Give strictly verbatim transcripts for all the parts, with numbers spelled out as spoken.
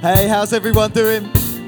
Hey, how's everyone doing?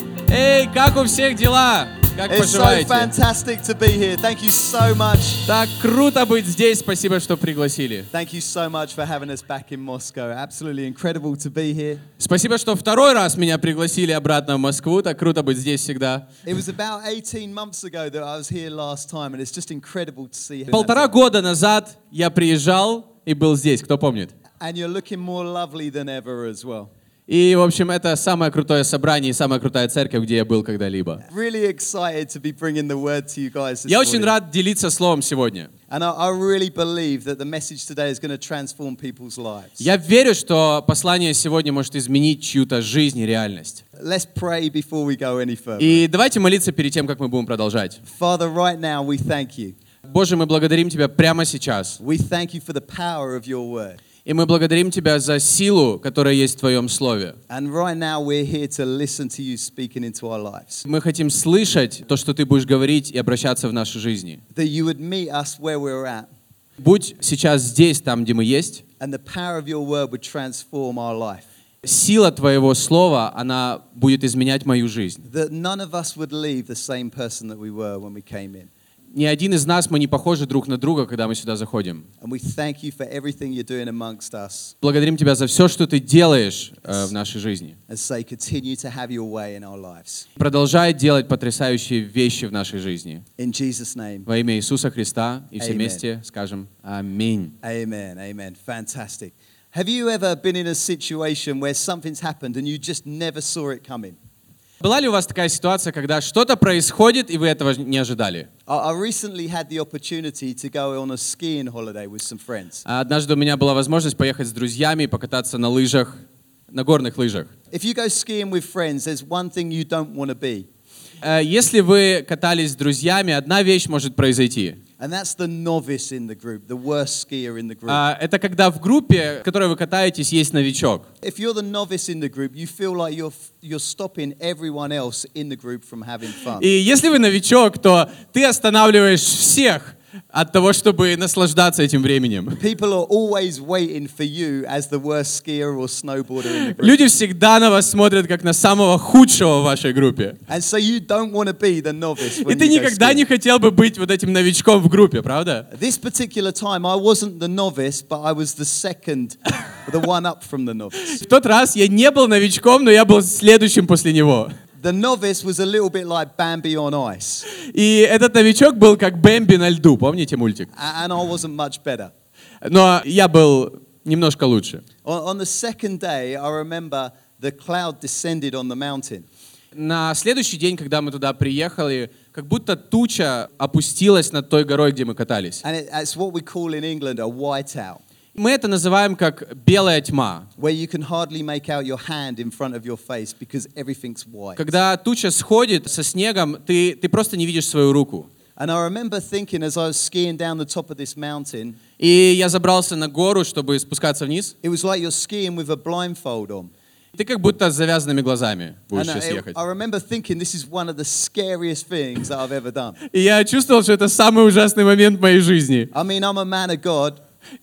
Эй, как у всех дела? Как It's so поживаете? fantastic to be here. Thank you so much. Так круто быть здесь. Спасибо, что пригласили. Thank you so much for having us back in Moscow. Absolutely incredible to be here. Спасибо, что второй раз меня пригласили обратно в Москву. Так круто быть здесь всегда. It was about eighteen months ago that I was here last time, and it's just incredible to see you. Полтора года назад я приезжал и был здесь. Кто помнит? And you're looking more lovely than ever as well. И, в общем, это самое крутое собрание и самая крутая церковь, где я был когда-либо. Really excited to be bringing the word to you guys this Я очень morning. рад делиться словом сегодня. And I, I really believe that the message today is going to transform people's lives. Я верю, что послание сегодня может изменить чью-то жизнь и реальность. Let's pray before we go any further. И давайте молиться перед тем, как мы будем продолжать. Father, right now we thank you. Боже, мы благодарим Тебя прямо сейчас. We thank you for the power of your word. И мы благодарим Тебя за силу, которая есть в Твоем Слове. And right now we're here to listen to you speaking into our lives. Мы хотим слышать то, что Ты будешь говорить и обращаться в нашей жизни. That you would meet us where we're at. Будь сейчас здесь, там, где мы есть. And the power of your word would transform our life. Сила Твоего Слова, она будет изменять мою жизнь. That none of us would leave the same person that we were when we came in. Ни один из нас, мы не похожи друг на друга, когда мы сюда заходим. And we thank you for everything you're doing amongst us. Благодарим Тебя за все, что Ты делаешь э, в нашей жизни. And say, continue to have your way in our lives. Продолжай делать потрясающие вещи в нашей жизни. In Jesus' name. Во имя Иисуса Христа. И все Amen. вместе скажем Аминь. Amen, amen. Fantastic. Have you ever been in a situation where something's happened and you just never saw it coming? Была ли у вас такая ситуация, когда что-то происходит, и вы этого не ожидали? I recently had the opportunity to go on a skiing holiday with some friends. Однажды у меня была возможность поехать с друзьями и покататься на лыжах, на горных лыжах. If you go skiing with friends, there's one thing you don't want to be. Если вы катались с друзьями, одна вещь может произойти. And that's the novice in the group, the worst skier in the group. Это когда в группе, в которой вы катаетесь, есть новичок. If you're the novice in the group, you feel like you're you're stopping everyone else in the group from having fun. И если вы новичок, то ты останавливаешь всех от того, чтобы наслаждаться этим временем. People are always waiting for you as the worst skier or snowboarder in the group. Люди всегда на вас смотрят как на самого худшего в вашей группе. And so you don't want to be the novice when И ты you go никогда skiing. не хотел бы быть вот этим новичком в группе, правда? This particular time, I wasn't the novice, but I was the second, the one up from the novice. В тот раз я не был новичком, но я был следующим после него. The novice was a little bit like Bambi on ice. И этот новичок был как Бэмби на льду, помните мультик? And I wasn't much better. Но я был немножко лучше. On, on the second day, I remember the cloud descended on the mountain. На следующий день, когда мы туда приехали, как будто туча опустилась над той горой, где мы катались. And it, it's what we call in England a whiteout, Мы это называем как белая тьма. where you can hardly make out your hand in front of your face because everything's white. Когда туча сходит со снегом, ты, ты просто не видишь свою руку. And I remember thinking as I was skiing down the top of this mountain, И я забрался на гору, чтобы спускаться вниз. it was like you're skiing with a blindfold on. Ты как будто с завязанными глазами будешь And сейчас I, ехать. I remember thinking this is one of the scariest things that I've ever done. И я чувствовал, что это самый ужасный момент в моей жизни. I mean, I'm a man of God,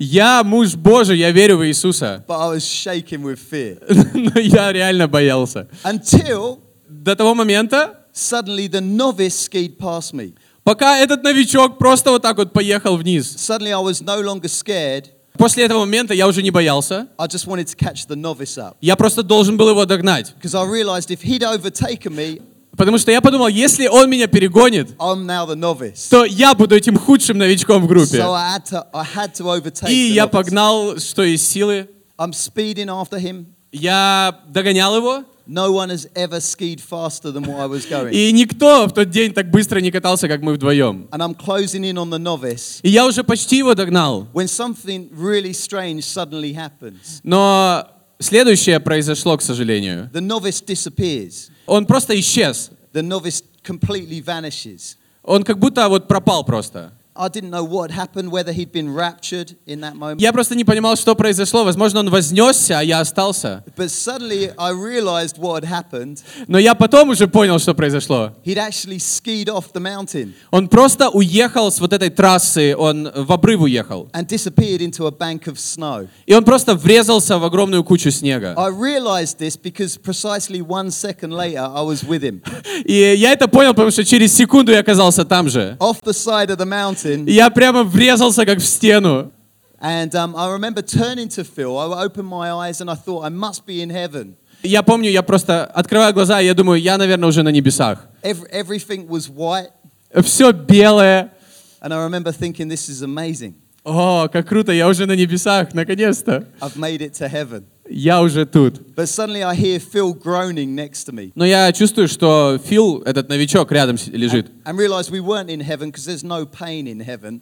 Я муж Божий, я верю в Иисуса. but I was shaking with fear. Но я реально боялся. Until До того момента, suddenly the novice skied past me. пока этот новичок просто вот так вот поехал вниз. Suddenly I was no longer scared. После этого момента я уже не боялся. I just wanted to catch the novice up. Я просто должен был его догнать. Because I realized if he'd overtaken me, Потому что я подумал, если он меня перегонит, I'm now the novice. то я буду этим худшим новичком в группе. So I had to, I had to overtake И the я novice. погнал, что из силы. I'm speeding after him. Я догонял его. No one has ever skied faster than what I was going. И никто в тот день так быстро не катался, как мы вдвоем. And I'm closing in on the novice И я уже почти его догнал. when something really strange suddenly happens. Но следующее произошло, к сожалению. The novice disappears. Он просто исчез. The novice completely vanishes. Он как будто вот пропал просто. I didn't know what had happened, whether he'd been raptured in that moment. Я просто не понимал, что произошло. Возможно, он вознесся, а я остался. But suddenly I realized what had happened. Но я потом уже понял, что произошло. He'd actually skied off the mountain Он просто уехал с вот этой трассы, он в обрыв уехал. and disappeared into a bank of snow. И он просто врезался в огромную кучу снега. I realized this because precisely one second later I was with him. И я это понял, потому что через секунду я оказался там же. Off the side of the mountain. И я прямо врезался как в стену. And um, I remember turning to Phil. I opened my eyes and I thought I must be in heaven. Я помню, я просто открываю глаза, и я думаю, я, наверное, уже на небесах. Every, everything was white. Все белое. And I remember thinking, this is amazing. О, как круто, я уже на небесах, наконец-то. I've made it to heaven. Я уже тут. But suddenly I hear Phil groaning next to me. Но я чувствую, что Фил, этот новичок, рядом с- лежит. And realized we weren't in heaven because there's no pain in heaven.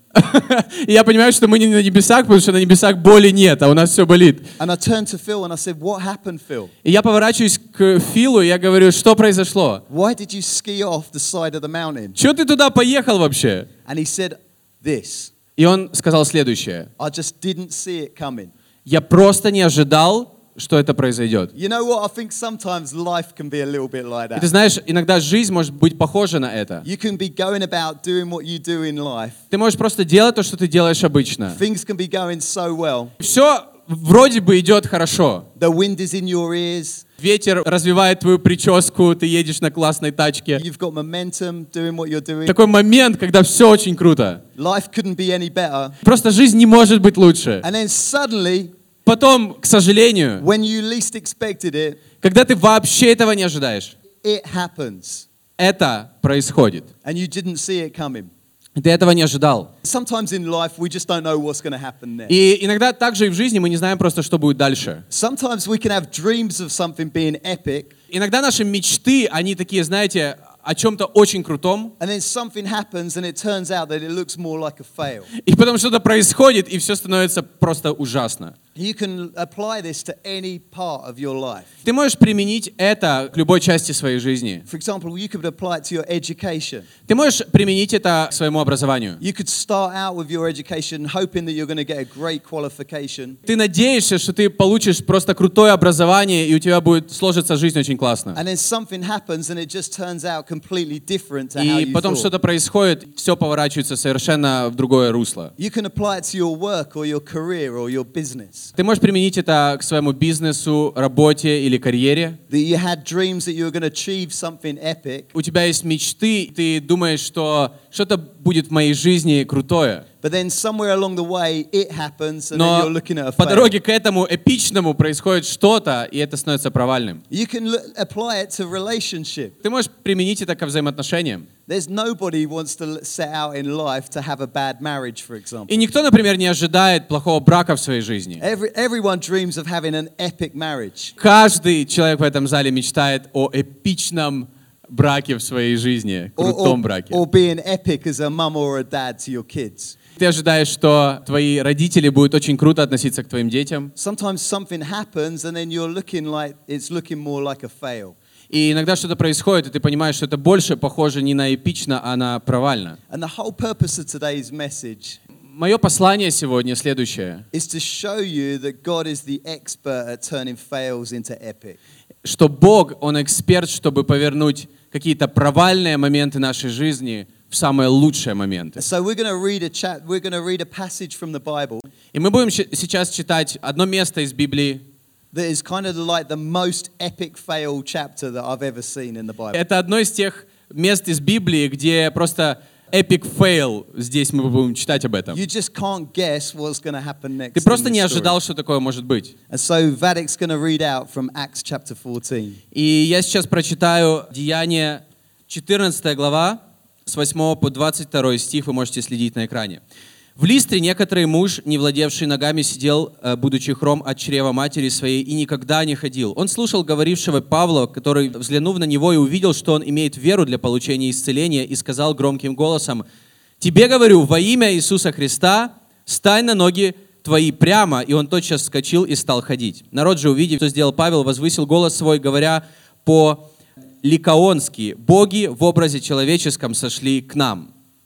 И я понимаю, что мы не на небесах, потому что на небесах боли нет, а у нас все болит. And I turned to Phil and I said, what happened, Phil? И я поворачиваюсь к Филу, и я говорю, что произошло? Why did you ski off the side of the mountain? Чего ты туда поехал вообще? And he said this. И он сказал следующее. I just didn't see it coming. Я просто не ожидал, что это произойдет. You know what? I think sometimes life can be a little bit like И ты that. знаешь, иногда жизнь может быть похожа на это. You can be going about doing what you do in life. Ты можешь просто делать то, что ты делаешь обычно. Things can be going so well. Все вроде бы идет хорошо. The wind is in your ears. Ветер развивает твою прическу, ты едешь на классной тачке. You've got momentum doing what you're doing. Такой момент, когда все очень круто. Life couldn't be any better. Просто жизнь не может быть лучше. And then suddenly, Потом, к сожалению, when you least expected it, когда ты вообще этого не ожидаешь, it happens. это происходит. And you didn't see it coming. Ты этого не ожидал. Sometimes in life, we just don't know what's going to happen next. И иногда также и в жизни мы не знаем просто, что будет дальше. Sometimes we can have dreams of something being epic, Иногда наши мечты, они такие, знаете, о чем-то очень крутом, and then something happens and it turns out that it looks more like a fail. и потом что-то происходит, и все становится просто ужасно. You can apply this to any part of your life. Ты можешь применить это к любой части своей жизни. For example, you could apply it to your education. Ты можешь применить это к своему образованию. You could start out with your education hoping that you're going to get a great qualification. Ты надеешься, что ты получишь просто крутое образование, и у тебя будет сложиться жизнь очень классно. And then something happens and it just turns out completely different to how И you потом thought. что-то происходит, все поворачивается совершенно в другое русло. You can apply it to your work or your career or your business. Ты можешь применить это к своему бизнесу, работе или карьере. That you had dreams that you were going to achieve something epic, У тебя есть мечты, ты думаешь, что что-то будет в моей жизни крутое. but then somewhere along the way it happens and then Но you're looking at a по fail. дороге к этому эпичному происходит что-то, и это становится провальным. You can look, apply it to relationship. Ты можешь применить это ко взаимоотношениям. There's nobody wants to set out in life to have a bad marriage, for example. И никто, например, не ожидает плохого брака в своей жизни. Every, everyone dreams of having an epic marriage. Каждый человек в этом зале мечтает о эпичном браке в своей жизни, Or, крутом or, браке. or being epic as a mum or a dad to your kids. Ты ожидаешь, что твои родители будут очень круто относиться к твоим детям. Sometimes something happens and then you're looking like it's looking more like a fail. И иногда что-то происходит, и ты понимаешь, что это больше похоже не на эпично, а на провально. And the whole purpose of today's message Мое послание сегодня следующее, is to show you that God is the expert at turning fails into epic. что Бог, Он эксперт, чтобы повернуть какие-то провальные моменты нашей жизни в самые лучшие моменты. So we're going to read a chat. We're going to read a passage from the Bible И мы будем щ- сейчас читать одно место из Библии. that is kind of like the most epic fail chapter that I've ever seen in the Bible. Это одно из тех мест из Библии, где просто epic fail, здесь мы будем читать об этом. You just can't guess what's going to happen next. Ты просто in не this story. ожидал, что такое может быть. And so Vadik's going to read out from Acts chapter fourteen. И я сейчас прочитаю Деяния четырнадцатая глава, с восьмого по двадцать второй стих, вы можете следить на экране. «В Листре некоторый муж, не владевший ногами, сидел, э, будучи хром от чрева матери своей, и никогда не ходил. Он слушал говорившего Павла, который, взглянув на него и увидел, что он имеет веру для получения исцеления, и сказал громким голосом: «Тебе говорю, во имя Иисуса Христа, стань на ноги твои прямо». И он тотчас вскочил и стал ходить. Народ же, увидев, что сделал Павел, возвысил голос свой, говоря по-ликаонски: «Боги в образе человеческом сошли к нам».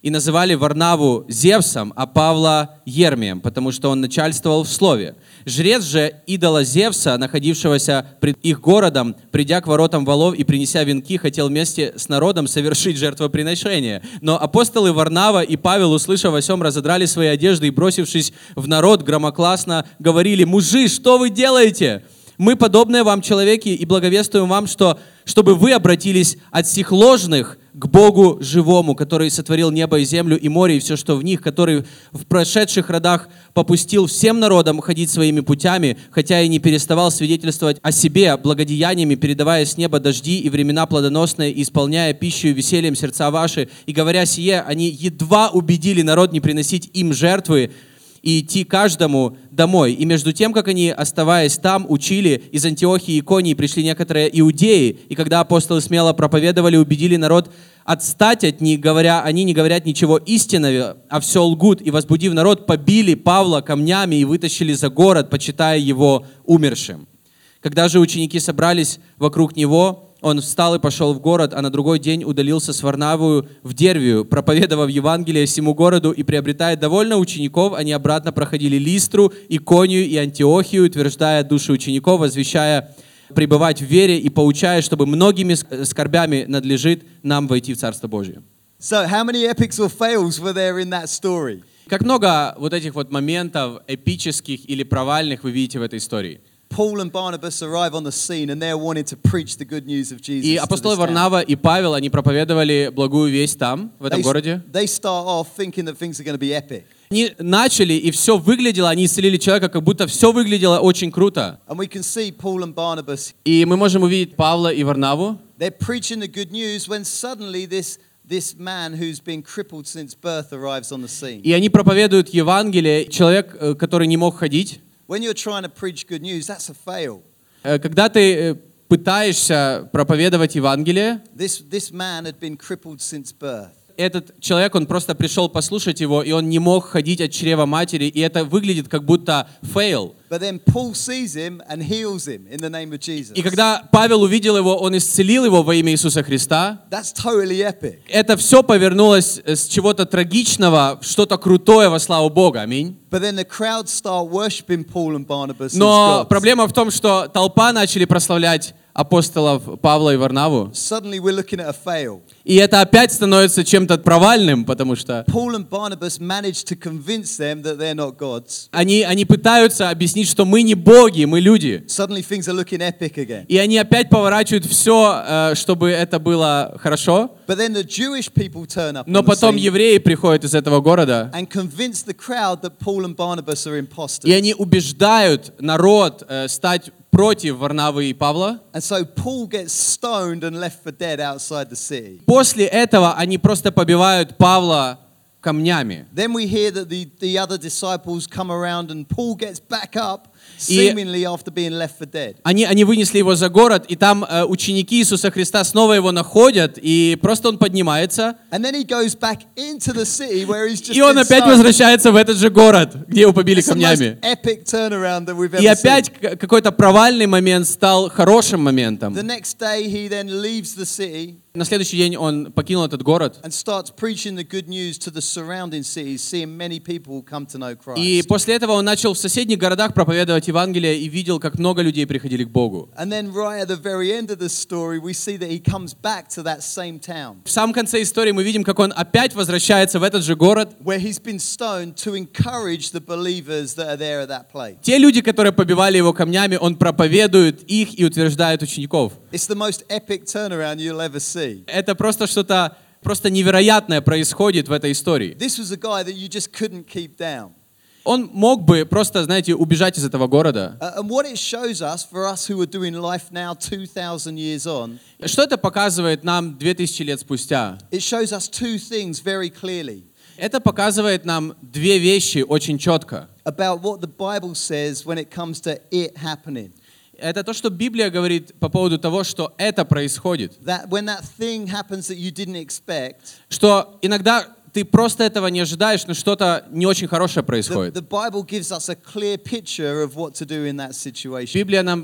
и называли Варнаву Зевсом, а Павла Ермием, потому что он начальствовал в слове. Жрец же идола Зевса, находившегося пред их городом, придя к воротам валов и принеся венки, хотел вместе с народом совершить жертвоприношение. Но апостолы Варнава и Павел, услышав о сем, разодрали свои одежды и, бросившись в народ, громогласно говорили: «Мужи, что вы делаете? Мы подобные вам человеки и благовествуем вам, что, чтобы вы обратились от сих ложных к Богу живому, который сотворил небо и землю и море и все, что в них, который в прошедших родах попустил всем народам ходить своими путями, хотя и не переставал свидетельствовать о себе благодеяниями, передавая с неба дожди и времена плодоносные, и исполняя пищу и весельем сердца ваши. И говоря сие, они едва убедили народ не приносить им жертвы и идти каждому домой. И между тем, как они, оставаясь там, учили, из Антиохии и Иконии пришли некоторые иудеи, и когда апостолы смело проповедовали, убедили народ отстать от них, говоря, они не говорят ничего истинного, а все лгут, и, возбудив народ, побили Павла камнями и вытащили за город, почитая его умершим. Когда же ученики собрались вокруг него, он встал и пошел в город, а на другой день удалился с Варнавою в Дервию, проповедовав Евангелие всему городу, и, приобретая довольно учеников, они обратно проходили Листру, Иконию и Антиохию, утверждая души учеников, возвещая пребывать в вере и поучая, чтобы многими скорбями надлежит нам войти в Царство Божие. So, how many epics or fails were there in that story? Как много вот этих вот моментов эпических или провальных вы видите в этой истории. Paul and Barnabas arrive on the scene and they're wanting to preach the good news of Jesus. И апостолы Варнава и Павел, они проповедовали благую весть там, в этом they, городе. They start off thinking that things are going to be epic. Они начали, и все выглядело, они исцелили человека, как будто все выглядело очень круто. And we can see Paul and Barnabas. И мы можем увидеть Павла и Варнаву. They're preaching the good news when suddenly this this man who's been crippled since birth arrives on the scene. И они проповедуют Евангелие. Человек, который не мог ходить. When you're trying to preach good news, that's a fail. Когда ты пытаешься проповедовать Евангелие, This this man had been crippled since birth. этот человек, он просто пришел послушать его, и он не мог ходить от чрева матери, и это выглядит как будто fail. But then Paul sees him and heals him in the name of Jesus. И когда Павел увидел его, он исцелил его во имя Иисуса Христа. That's totally epic. Это все повернулось с чего-то трагичного в что-то крутое во славу Бога. Аминь. But then the crowd start worshiping Paul and Barnabas as Но gods. проблема в том, что толпа начали прославлять апостолов Павла и Варнаву. Suddenly we're looking at a fail. И это опять становится чем-то провальным, потому что Paul and Barnabas managed to convince them that they're not gods. они, они пытаются объяснить, что мы не боги, мы люди. Suddenly things are looking epic again. И они опять поворачивают все, чтобы это было хорошо. But then the Jewish people turn up Но on the потом scene евреи приходят из этого города, and convince the crowd that Paul and Barnabas are imposters. и они убеждают народ э, стать против Варнавы и Павла. And so Paul gets stoned and left for dead outside the city. После этого они просто побивают Павла камнями. Then we hear that the, the other disciples come around and Paul gets back up, И seemingly after being left for dead. Они, они вынесли его за город, и там э, ученики Иисуса Христа снова его находят, и просто он поднимается, And then he goes back into the city where he's just и он been опять stoned. возвращается в этот же город, где его побили It's the most камнями. epic turnaround that we've И ever опять seen. к- какой-то провальный момент стал хорошим моментом. The next day he then leaves the city На следующий день он покинул этот город, and starts preaching the good news to the surrounding cities, seeing many people come to know и Christ. после этого он начал в соседних городах проповедовать Евангелие и видел, как много людей приходили к Богу. And then right at the very end of the story, we see that he comes back to that same town В самом конце истории мы видим, как он опять возвращается в этот же город. where he's been stoned to encourage the believers that are there at that place. Те люди, которые побивали его камнями, он проповедует их и утверждает учеников. It's the most epic turnaround you'll ever see. Это просто что-то просто невероятное происходит в этой истории. This was a guy that you just couldn't keep down. Он мог бы просто, знаете, убежать из этого города. Uh, and what it shows us, for us who are doing life now two thousand years on, Что это показывает нам две тысячи лет спустя? it shows us two things very clearly Это показывает нам две вещи очень четко. about what the Bible says when it comes to it happening. Это то, что Библия говорит по поводу того, что это происходит. That when that thing happens that you didn't expect, Что иногда ты просто этого не ожидаешь, но что-то не очень хорошее the, происходит. the Bible gives us a clear picture of what to do in that situation. Библия нам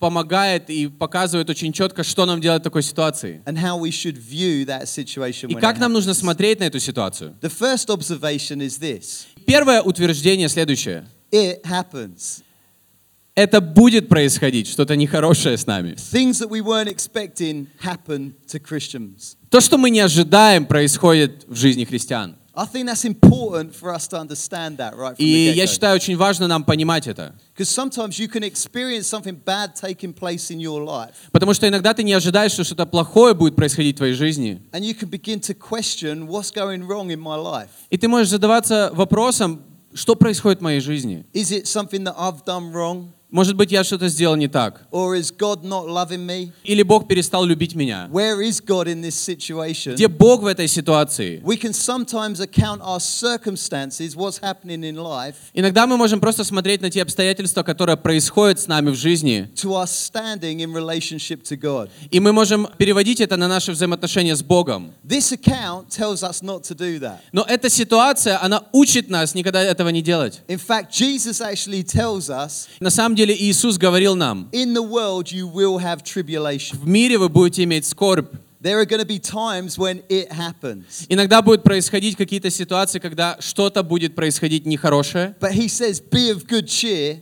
помогает и показывает очень четко, что нам делать в такой ситуации. and how we should view that situation И when как it нам нужно happens. смотреть на эту ситуацию. The first observation is this. Первое утверждение следующее. It happens. Это будет происходить, что-то нехорошее с нами. Things that we weren't expecting happen to Christians. То, что мы не ожидаем, происходит в жизни христиан. I think that's important for us to understand that right from И the я get-go. считаю, очень важно нам понимать это. Because sometimes you can experience something bad taking place in your life, Потому что иногда ты не ожидаешь, что что-то плохое будет происходить в твоей жизни. and you can begin to question what's going wrong in my life. И ты можешь задаваться вопросом, что происходит в моей жизни. Is it something that I've done wrong? Может быть, я что-то сделал не так. Or is God not loving me? Или Бог перестал любить меня. Where is God in this situation? Где Бог в этой ситуации? We can sometimes account our circumstances, what's happening in life, Иногда мы можем просто смотреть на те обстоятельства, которые происходят с нами в жизни, to our standing in relationship to God. и мы можем переводить это на наши взаимоотношения с Богом. This account tells us not to do that. Но эта ситуация, она учит нас никогда этого не делать. In fact, Jesus actually tells us, На самом деле Иисус говорил нам, in the world you will have tribulation. в мире вы будете иметь скорбь. There are going to be times when it happens. Иногда будут происходить какие-то ситуации, когда что-то будет происходить нехорошее, But he says, be of good cheer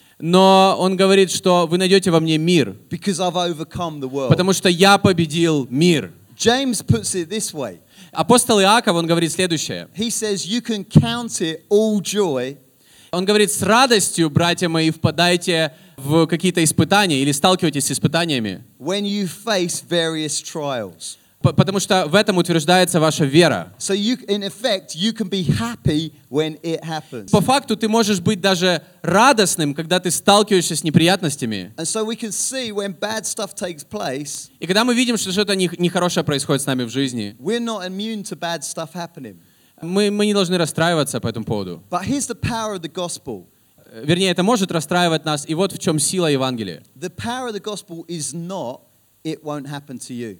но Он говорит, что вы найдете во мне мир, because I've overcome the world. потому что я победил мир. James puts it this way. Апостол Иаков, он говорит следующее. He says, you can count it all joy Он говорит, с радостью, братья мои, впадайте в какие-то испытания или сталкивайтесь с испытаниями, when you face various trials. п- потому что в этом утверждается ваша вера. So you, in effect, you can be happy when it happens. По факту ты можешь быть даже радостным, когда ты сталкиваешься с неприятностями. And so we can see when bad stuff takes place, И когда мы видим, что что-то не- нехорошее происходит с нами в жизни, we're not immune to bad stuff happening. мы, мы не должны расстраиваться по этому поводу. But here's the power of the gospel. Вернее, это может расстраивать нас, и вот в чем сила Евангелия. The power of the gospel is not, it won't happen to you.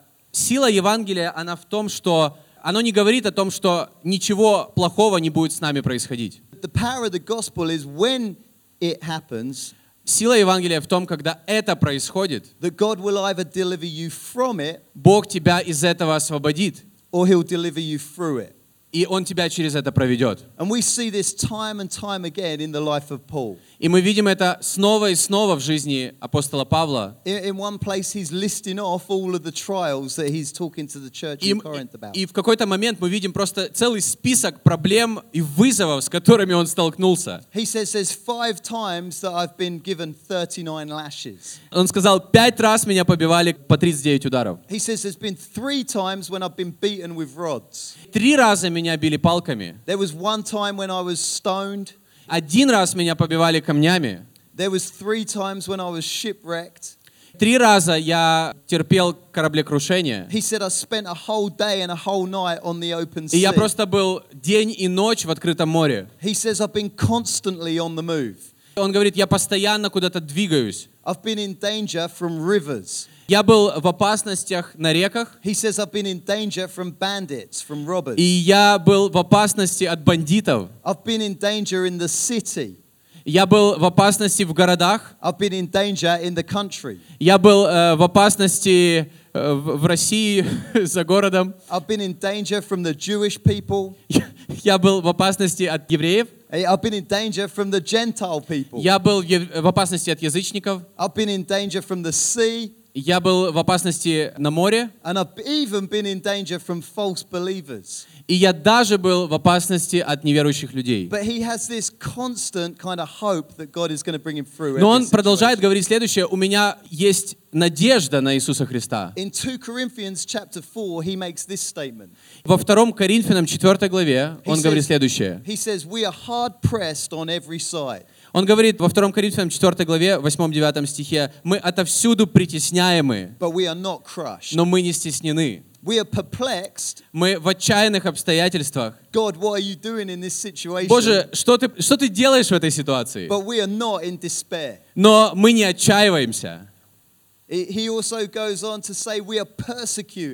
Сила Евангелия, она в том, что оно не говорит о том, что ничего плохого не будет с нами происходить. The power of the gospel is when it happens, Сила Евангелия в том, когда это происходит, that God will either deliver you from it Бог тебя из этого освободит, or he'll deliver you through it. и Он тебя через это проведет. And we see this time and time again in the life of Paul. И мы видим это снова и снова в жизни апостола Павла. In, in one place, he's listing off all of the trials that he's talking to the church И, in Corinth about. и в какой-то момент мы видим просто целый список проблем и вызовов, с которыми он столкнулся. He says there's five times that I've been given thirty-nine lashes. Он сказал, пять раз меня побивали по тридцать девять ударов. He says there's been three times when I've been beaten with rods. Три раза меня били палками. There was one time when I was stoned. Один раз меня побивали камнями. There was three times when I was shipwrecked. Три раза я терпел кораблекрушение. He said I spent a whole day and a whole night on the open И я sea. просто был день и ночь в открытом море. He says I've been constantly on the move. Он говорит, я постоянно куда-то двигаюсь. I've been in danger from rivers. Я был в опасностях на реках, He says I've been in danger from bandits, from robbers. и я был в опасности от бандитов. I've been in danger in the city. Я был в опасности в городах. I've been in danger in the country. Я был э, в опасности э, в, в России за городом. I've been in danger from the Jewish people. Я был в опасности от евреев. I've been in danger from the Gentile people. Я был в ев- в опасности от язычников. I've been in danger from the sea. Я был в опасности на море. And I've even been in danger from false believers. И я даже был в опасности от неверующих людей. But he has this constant kind of hope that God is going to bring him through. Но every он продолжает situation. говорить следующее. У меня есть надежда на Иисуса Христа. In two Corinthians chapter four, he makes this statement. Во втором Коринфянам четвёртой главе He он говорит says- следующее. He says, we are hard pressed on every side. Он говорит во втором Коринфянам четвёртой главе, восьмом-девятом стихе, мы отовсюду притесняемы, But we are not crushed. но мы не стеснены. We are perplexed. Мы в отчаянных обстоятельствах. God, what are you doing in this situation? Боже, что ты, что ты делаешь в этой ситуации? But we are not in despair. Но мы не отчаиваемся. He he also goes on to say we are persecuted.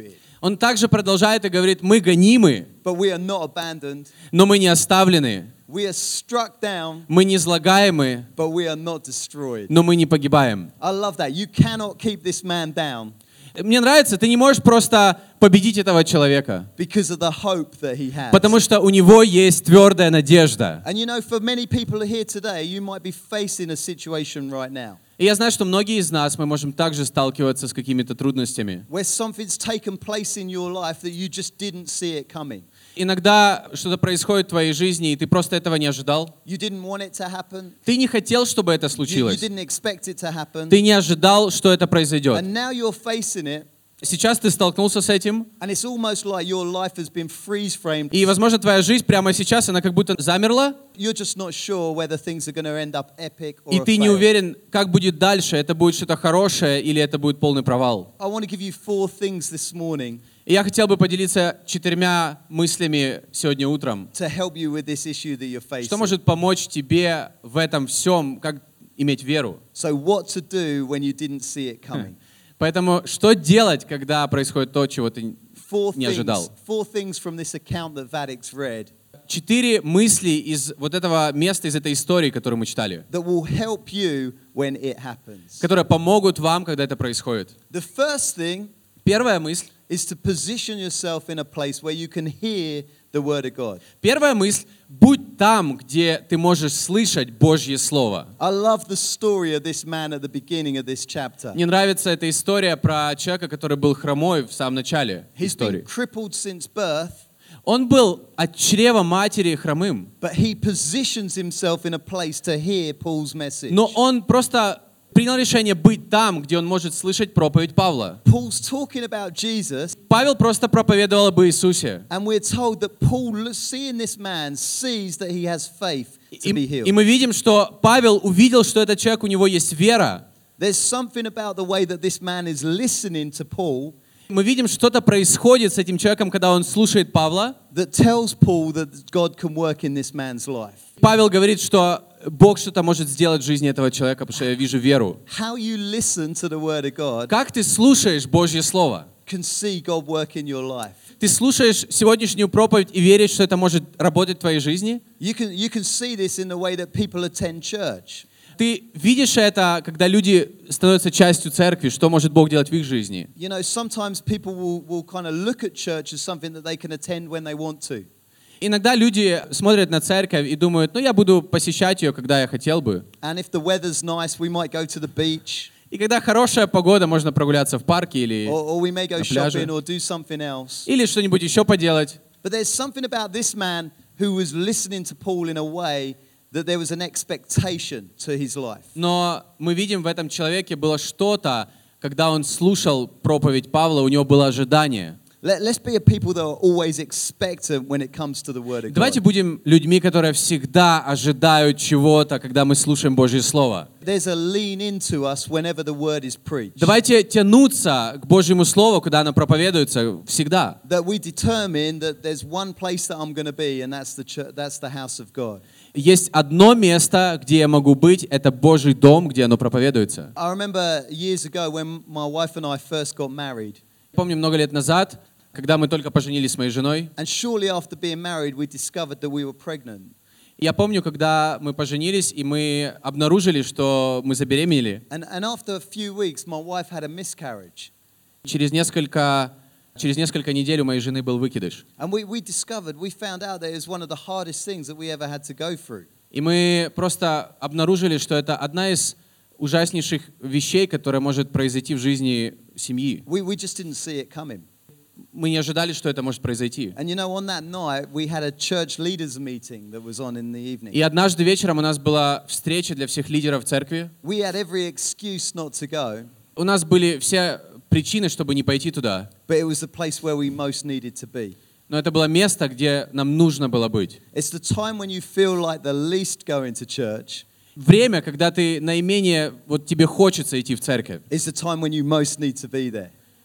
Он также продолжает и говорит, мы гонимы, but we are not abandoned. но мы не оставлены. We are struck down, Мы не излагаемы, but we are not destroyed. но мы не погибаем. I love that. You cannot keep this man down Мне нравится, ты не можешь просто победить этого человека, because of the hope that he has. потому что у него есть твердая надежда. And you know, for many people here today, you might be facing a situation right now И я знаю, что многие из нас, мы можем также сталкиваться с какими-то трудностями. where something's taken place in your life that you just didn't see it coming. Иногда что-то происходит в твоей жизни, и ты просто этого не ожидал. You didn't want it to happen. Ты не хотел, чтобы это You, you случилось. didn't expect it to happen. Ты не ожидал, что это произойдет. And now you're facing it, Сейчас ты столкнулся с этим, and it's almost like your life has been freeze-framed. и, возможно, твоя жизнь прямо сейчас, она как будто замерла, You're just not sure whether things are going to end up epic or и a ты не fail. уверен, как будет дальше, это будет что-то хорошее или это будет полный провал. I want to give you four things this morning И я хотел бы поделиться четырьмя мыслями сегодня утром, to help you with this issue that you're facing. что может помочь тебе в этом всем, как иметь веру. So what to do when you didn't see it coming? Поэтому что делать, когда происходит то, чего ты Four не things, ожидал? four things from this account that Vadik's read Четыре мысли из вот этого места, из этой истории, которую мы читали, that will help you when it happens. которые помогут вам, когда это происходит. The first thing Первая мысль. is to position yourself in a place where you can hear the word of God. Первая мысль. Будь там, где ты можешь слышать Божье Слово. I love the story of this man at the beginning of this chapter. Мне нравится эта история про человека, который был хромой в самом начале He's been истории. crippled since birth, Он был от чрева матери хромым, but he positions himself in a place to hear Paul's message. но он просто принял решение быть там, где он может слышать проповедь Павла. Paul's talking about Jesus, Павел просто проповедовал об Иисусе. and we're told that Paul, seeing this man, sees that he has faith to be И, healed. и мы видим, что Павел увидел, что этот человек, у него есть вера. There's something about the way that this man is listening to Paul Мы видим, что-то происходит с этим человеком, когда он слушает Павла. that tells Paul that God can work in this man's life. Павел говорит, что Бог что-то может сделать в жизни этого человека, потому что я вижу веру. How you listen to the word of God Как ты слушаешь Божье Слово? can see God work in your life. Ты слушаешь сегодняшнюю проповедь и веришь, что это может работать в твоей жизни? You can, you can see this in the way that people attend church. Ты видишь это, когда люди становятся частью церкви, что может Бог делать в их жизни? You know, sometimes people will, will kind of look at church as something that they can attend when they want to. Иногда люди смотрят на церковь и думают, ну я буду посещать ее, когда я хотел бы. And if the weather's nice, we might go to the beach, И когда хорошая погода, можно прогуляться в парке или, or, or we may go на пляже. shopping or do something else. или что-нибудь еще поделать. But there's something about this man who was listening to Paul in a way that there was an expectation to his life. Но мы видим, в этом человеке было что-то, когда он слушал проповедь Павла, у него было ожидание. Let, let's be a people that are always expectant when it comes to the word of Давайте God. будем людьми, которые всегда ожидают чего-то, когда мы слушаем Божье Слово. There's a lean into us whenever the word is preached. Давайте тянуться к Божьему Слову, когда оно проповедуется, всегда. That we determine that there's one place that I'm going to be, and that's the church, that's the house of God. Есть одно место, где я могу быть, это Божий дом, где оно проповедуется. I remember years ago when my wife and I first got married, Помню, много лет назад, когда мы только поженились с моей женой, and shortly after being married, we discovered that we were pregnant. я помню, когда мы поженились, и мы обнаружили, что мы забеременели. And, and after a few weeks, my wife had a miscarriage. Через несколько, через несколько недель у моей жены был выкидыш. And we, we discovered, we found out that it was one of the hardest things that we ever had to go through. И мы просто обнаружили, что это одна из ужаснейших вещей, которая может произойти в жизни семьи. We, we just didn't see it coming. Мы не ожидали, что это может произойти. And you know, on that night, we had a church leaders meeting that was on in the evening. И однажды вечером у нас была встреча для всех лидеров церкви. We had every excuse not to go, У нас были все причины, чтобы не пойти туда. but it was the place where we most needed to be. Но это было место, где нам нужно было быть. It's the time when you feel like the least going to church. Время, когда ты наименее, вот тебе хочется идти в церковь. It's the time when you most need to be there.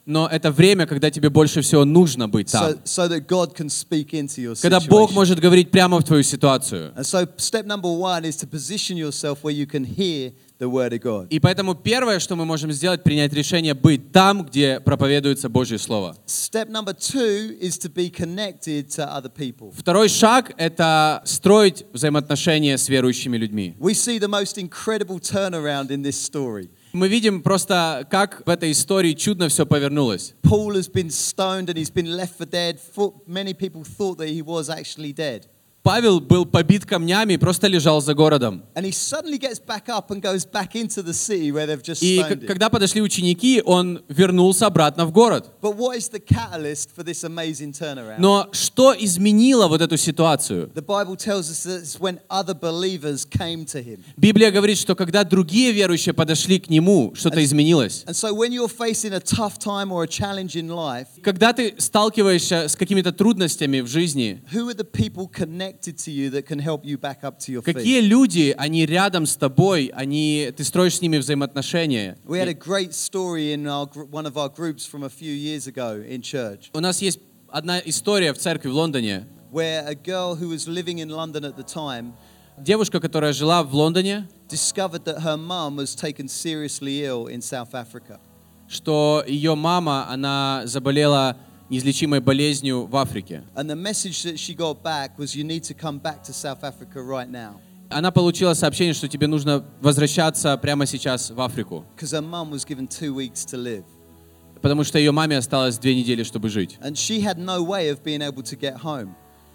но это время, когда тебе больше всего нужно быть там. so, so that God can speak into your Когда Бог situation. может говорить прямо в твою ситуацию. And so step number one is to position yourself where you can hear the word of God. И поэтому первое, что мы можем сделать, принять решение быть там, где проповедуется Божье Слово. Step number two is to be connected to other people. Второй шаг — это строить взаимоотношения с верующими людьми. We see the most incredible turnaround in this story. Мы видим просто, как в этой истории чудно все повернулось. Paul has been stoned and he's been left for dead. For- Many people thought that he was actually dead. Павел был побит камнями и просто лежал за городом. And he suddenly gets back up and goes back into the city where they've just И stoned к- him. когда подошли ученики, он вернулся обратно в город. But what is the catalyst for this amazing turnaround? Но что изменило вот эту ситуацию? The Bible tells us that it's when other believers came to him. Библия говорит, что когда другие верующие подошли к нему, что-то изменилось. And so when you're facing a tough time or a challenge in life, Когда ты сталкиваешься с какими-то трудностями в жизни, who are the people connected to you that can help you back up to your feet? какие люди, они рядом с тобой, они, ты строишь с ними взаимоотношения. We had a great story in our, gr- one of our groups from a few years ago in church, У нас есть одна история в церкви в Лондоне. where a girl who was living in London at the time Девушка, которая жила в Лондоне, discovered that her mum was taken seriously ill in South Africa. что ее мама, она заболела неизлечимой болезнью в Африке. And the message that she got back was, you need to come back to South Africa right now. Она получила сообщение, что тебе нужно возвращаться прямо сейчас в Африку, Because her mum was given two weeks to live. потому что ее маме осталось две недели, чтобы жить. And she had no way of being able to get home.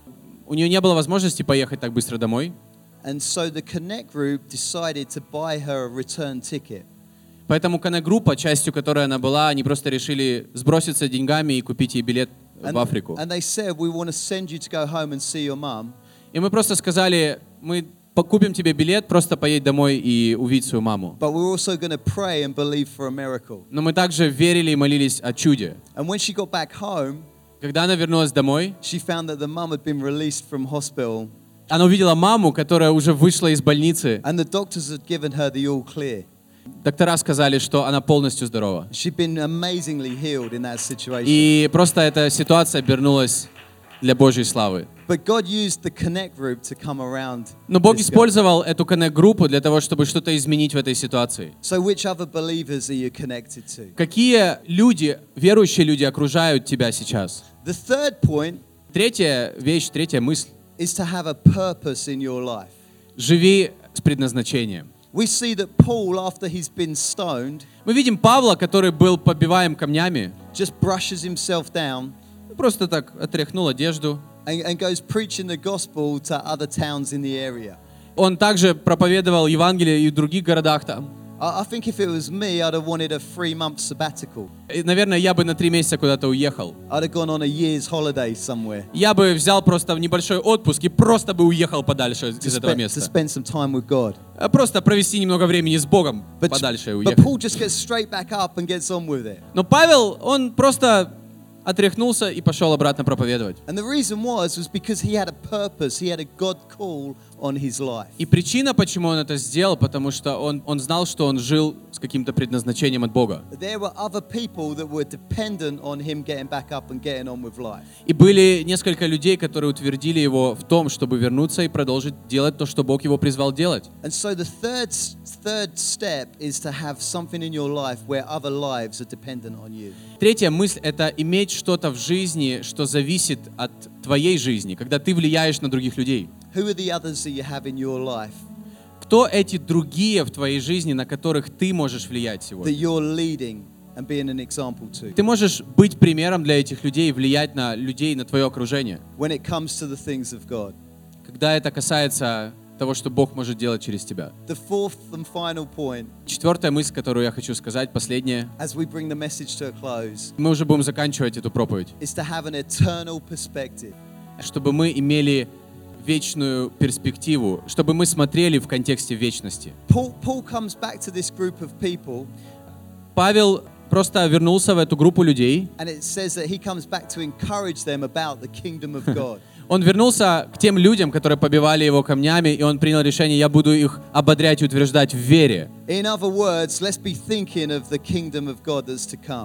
У нее не было возможности поехать так быстро домой, And so the Connect group decided to buy her a return ticket. поэтому Коннект-группа, частью которой она была, они просто решили сброситься деньгами и купить ей билет в And, Африку. and they said, we want to send you to go home and see your mum. И мы просто сказали, мы купим тебе билет, просто поедь домой и увидеть свою маму. But we're also going to pray and believe for a miracle. Но мы также верили и молились о чуде. And when she got back home, Когда она вернулась домой, she found that the mum had been released from hospital она увидела маму, которая уже вышла из больницы. and the doctors had given her the all clear. Доктора сказали, что она полностью здорова. She'd been amazingly healed in that situation. И просто эта ситуация обернулась для Божьей славы. But God used the Connect group to come around. Но Бог this girl. использовал эту Коннект-группу для того, чтобы что-то изменить в этой ситуации. So which other believers are you connected to? Какие люди, верующие люди, окружают тебя сейчас? The third point Третья вещь, третья мысль. is to have a purpose in your life. Живи с предназначением. We see that Paul, after he's been stoned, Мы видим Павла, который был побиваем камнями, just brushes himself down просто так отряхнул одежду. and, and goes preaching the gospel to other towns in the area. Он также проповедовал Евангелие и в других городах там. I, I think if it was me, I'd have wanted a three-month sabbatical. И, наверное, я бы на три месяца куда-то уехал. I'd have gone on a year's holiday somewhere Я бы взял просто небольшой отпуск и просто бы уехал подальше to, из этого spe- to места. spend some time with God. А Просто провести немного времени с Богом But, подальше и but уехать. Paul just gets straight back up and gets on with it. Но Павел, он просто отряхнулся и пошел обратно проповедовать. And the reason was, was because he had a purpose. He had a God call on his life. И причина, почему он это сделал, потому что он, он знал, что он жил с каким-то предназначением от Бога. There were other people that were dependent on him getting back up and getting on with life. И были несколько людей, которые утвердили его в том, чтобы вернуться и продолжить делать то, что Бог его призвал делать. And so the third third step is to have something in your life where other lives are dependent on you. Третья мысль — это иметь что-то в жизни, что зависит от твоей жизни, когда ты влияешь на других людей. Who are the others that you have in your life Кто эти другие в твоей жизни, на которых ты можешь влиять that сегодня? you're leading and being an example to Ты можешь быть примером для этих людей и влиять на людей, на твое окружение, when it comes to the things of God? когда это касается того, что Бог может делать через тебя. The fourth and final point, Четвертая мысль, которую я хочу сказать, последняя. as we bring the message to a close, Мы уже будем заканчивать эту проповедь. is to have an eternal perspective. Чтобы мы имели вечную перспективу, чтобы мы смотрели в контексте вечности. Paul, Paul comes back to this group of people, Павел просто вернулся в эту группу людей. and it says that he comes back to encourage them about the kingdom of God. Он вернулся к тем людям, которые побивали его камнями, и он принял решение: я буду их ободрять и утверждать в вере. In other words, let's be thinking of the kingdom of God that's to come.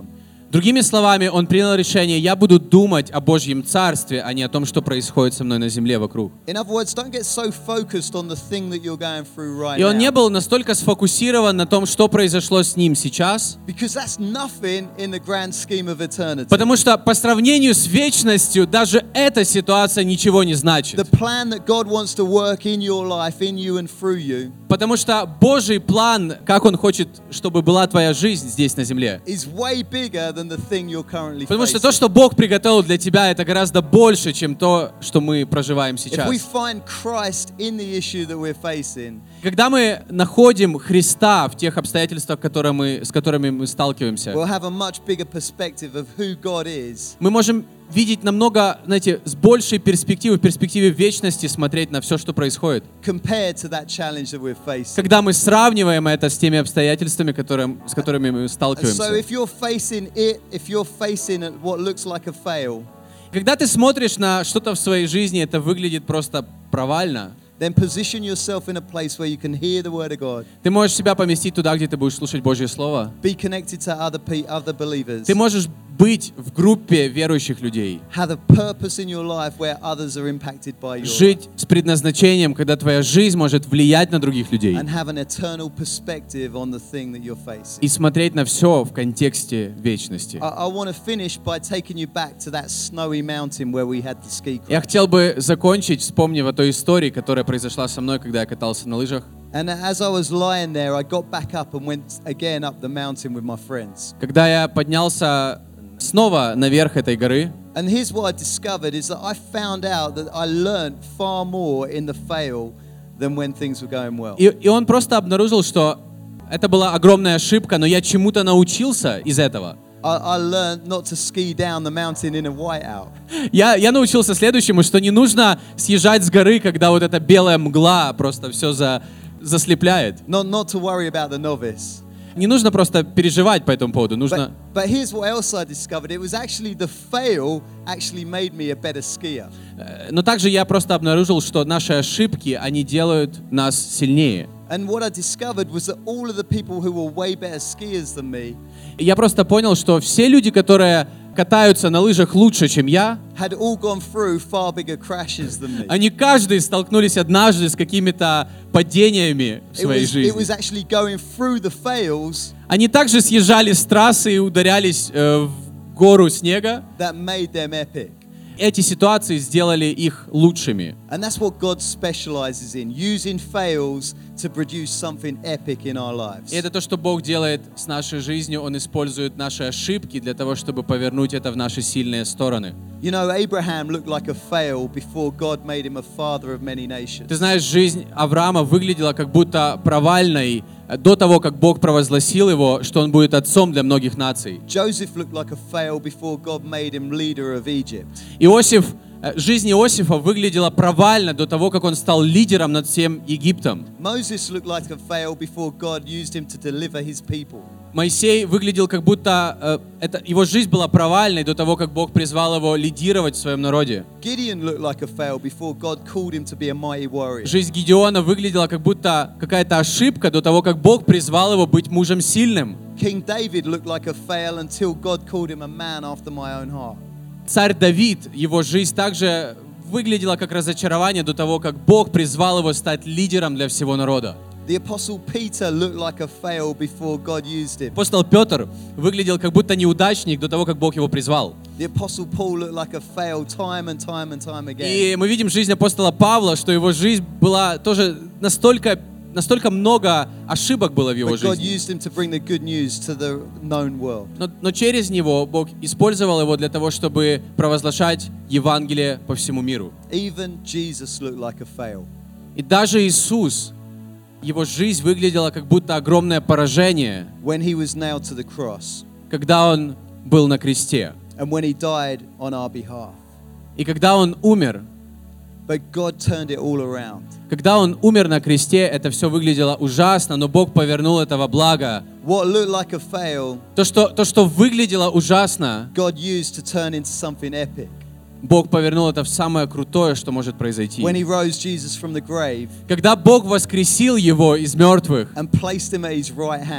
Другими словами, он принял решение: я буду думать о Божьем Царстве, а не о том, что происходит со мной на земле вокруг. In other words, don't get so focused on the thing that you're going through right И он не now. был настолько сфокусирован на том, что произошло с ним сейчас, Because that's nothing in the grand scheme of eternity. потому что по сравнению с вечностью даже эта ситуация ничего не значит. The plan that God wants to work in your life, in you and through you, Потому что Божий план, как Он хочет, чтобы была твоя жизнь здесь на земле. is way bigger than the thing you're currently Потому что facing. то, что Бог приготовил для тебя, это гораздо больше, чем то, что мы проживаем If сейчас. we find Christ in the issue that we're facing, Когда мы находим Христа в тех обстоятельствах, которые мы, с которыми мы сталкиваемся, we'll have a much bigger perspective of who God is мы можем видеть намного, знаете, с большей перспективы, в перспективе вечности смотреть на все, что происходит. compared to that challenge that we're facing. Когда мы сравниваем это с теми обстоятельствами, которые, с которыми мы So сталкиваемся. if you're facing it, if you're facing what looks like a fail, Когда ты смотришь на что-то в своей жизни, это выглядит просто провально, then position yourself in a place where you can hear the word of God, ты можешь себя поместить туда, где ты будешь слушать Божье Слово. be connected to other pe- other believers, Ты можешь быть в группе верующих людей. have a purpose in your life where others are impacted by your life, Жить с предназначением, когда твоя жизнь может влиять на других людей. and have an eternal perspective on the thing that you're facing. И смотреть на все в контексте вечности. I, I want to finish by taking you back to that snowy mountain where we had the ski Я crash. хотел бы закончить, вспомнив о той истории, которая произошла со мной, когда я катался на лыжах. And as I was lying there, I got back up and went again up the mountain with my friends. Когда я поднялся снова наверх этой горы, And here's what I discovered is that I found out that I learned far more in the fail than when things were going well. и, и он просто обнаружил, что это была огромная ошибка, но я чему-то научился из этого. I, I learned not to ski down the mountain in a whiteout. Я, я научился следующему, что не нужно съезжать с горы, когда вот эта белая мгла просто все за, заслепляет. Not, not to worry about the novice. Не нужно просто переживать по этому поводу. Нужно... But, but here's what else I discovered. It was actually the fail actually made me a better skier. Э, Но также я просто обнаружил, что наши ошибки, они делают нас сильнее. And what I discovered was that all of the people who were way better skiers than me И я просто понял, что все люди, которые катаются на лыжах лучше, чем я, had all gone through far bigger crashes than me. они каждый столкнулись однажды с какими-то падениями в It своей was, it жизни. was actually going through the fails Они также съезжали с трассы и ударялись э, в гору снега. that made them epic. Эти ситуации сделали их лучшими. And that's what God specializes in, using fails to produce something epic in our lives. И это то, что Бог делает с нашей жизнью. Он использует наши ошибки для того, чтобы повернуть это в наши сильные стороны. You know, Abraham looked like a fail before God made him a father of many nations. Ты знаешь, жизнь Авраама выглядела как будто провальной до того, как Бог провозгласил его, что он будет отцом для многих наций. Joseph looked like a fail before God made him leader of Egypt. Иосиф, э, жизнь Иосифа выглядела провально до того, как он стал лидером над всем Египтом. Moses looked like a fail before God used him to deliver his people. Моисей выглядел как будто э, это, его жизнь была провальной до того, как Бог призвал его лидировать в своем народе. Gideon looked like a fail before God called him to be a mighty warrior. Жизнь Гидеона выглядела как будто какая-то ошибка до того, как Бог призвал его быть мужем сильным. King David looked like a fail until God called him a man after my own heart. Царь Давид, его жизнь также выглядела как разочарование до того, как Бог призвал его стать лидером для всего народа. The apostle Peter looked like a fail before God used him. Апостол Петр выглядел как будто неудачник до того, как Бог его призвал. The apostle Paul looked like a fail time and time and time again. И мы видим жизнь апостола Павла, что его жизнь была тоже настолько, настолько много ошибок было в его But God жизни. used him to bring the good news to the known world. Но, но через него Бог использовал его для того, чтобы провозглашать Евангелие по всему миру. Even Jesus looked like a fail. И даже Иисус, его жизнь выглядела как будто огромное поражение, When he was nailed to the cross когда он был на кресте. and when he died on our behalf. И когда он умер, But God turned it all around. когда он умер на кресте, это все выглядело ужасно, но Бог повернул это во благо. What looked like a fail, То, что, то, что выглядело ужасно, God used to turn into something epic. Бог повернул это в самое крутое, что может произойти. When he rose Jesus from the grave Когда Бог воскресил его из мертвых and placed him at his right hand,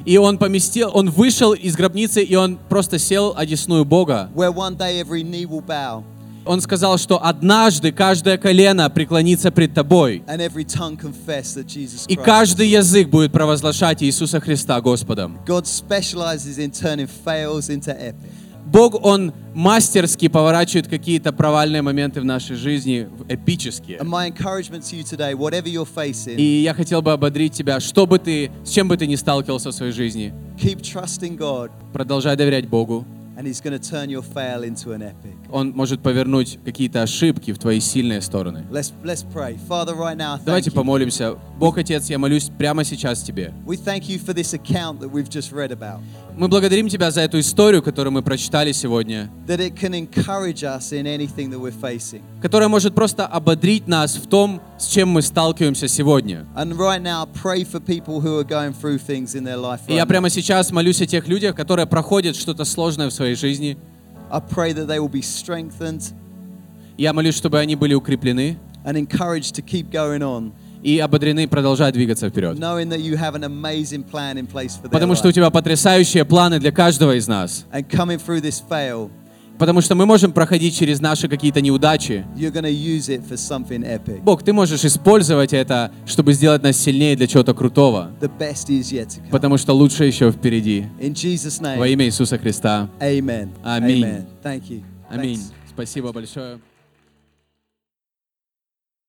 И он поместил, он вышел из гробницы, и он просто сел одесную Бога. where one day every knee will bow Он сказал, что однажды каждое колено преклонится пред тобой, and every tongue confess that Jesus и Christ. каждый язык будет провозглашать Иисуса Христа Господом. God specializes in turning fails into epic. Бог, Он мастерски поворачивает какие-то провальные моменты в нашей жизни в эпические. And my encouragement to you today, whatever you're facing, И я хотел бы ободрить тебя, что бы ты, с чем бы ты ни сталкивался в своей жизни, keep trusting God, продолжай доверять Богу. and He's going to turn your fail into an epic. Он может повернуть какие-то ошибки в твои сильные стороны. Let's let's pray. Father, right now, thank Давайте you. помолимся. Бог, Отец, я молюсь прямо сейчас Тебе. We thank you for this account that we've just read about, Мы благодарим Тебя за эту историю, которую мы прочитали сегодня, that it can encourage us in anything that we're facing. которая может просто ободрить нас в том, с чем мы сталкиваемся сегодня. And right now, pray for people who are going through things in their life И я right now. прямо сейчас молюсь о тех людях, которые проходят что-то сложное в своей жизни. I pray that they will be strengthened Я молюсь, чтобы они были укреплены and encouraged to keep going on, и ободрены продолжать двигаться вперед. knowing that you have an amazing plan in place for their Потому что у life. Тебя потрясающие планы для каждого из нас. And coming through this fail, Потому что мы можем проходить через наши какие-то неудачи. you're going to use it for something epic. Бог, Ты можешь использовать это, чтобы сделать нас сильнее для чего-то крутого. The best is yet to come. Потому что лучше еще впереди. In Jesus' Во name, имя Иисуса Христа. amen. Amen. Amen. Thank you. Аминь. Thanks. Спасибо большое.